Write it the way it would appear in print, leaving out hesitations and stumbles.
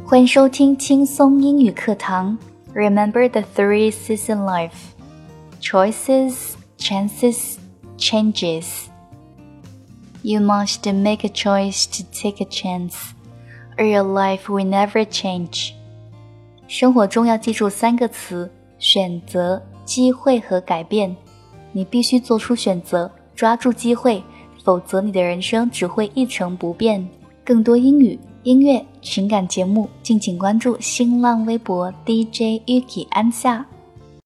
欢迎收听轻松英语课堂 Remember the three C's in life Choices, chances, changes You must make a choice to take a chance or your life will never change 生活中要记住3个词选择、机会和改变你必须做出选择，抓住机会，否则你的人生只会一成不变。更多英语、音乐、情感节目，敬请关注新浪微博 DJ Yuki 安夏。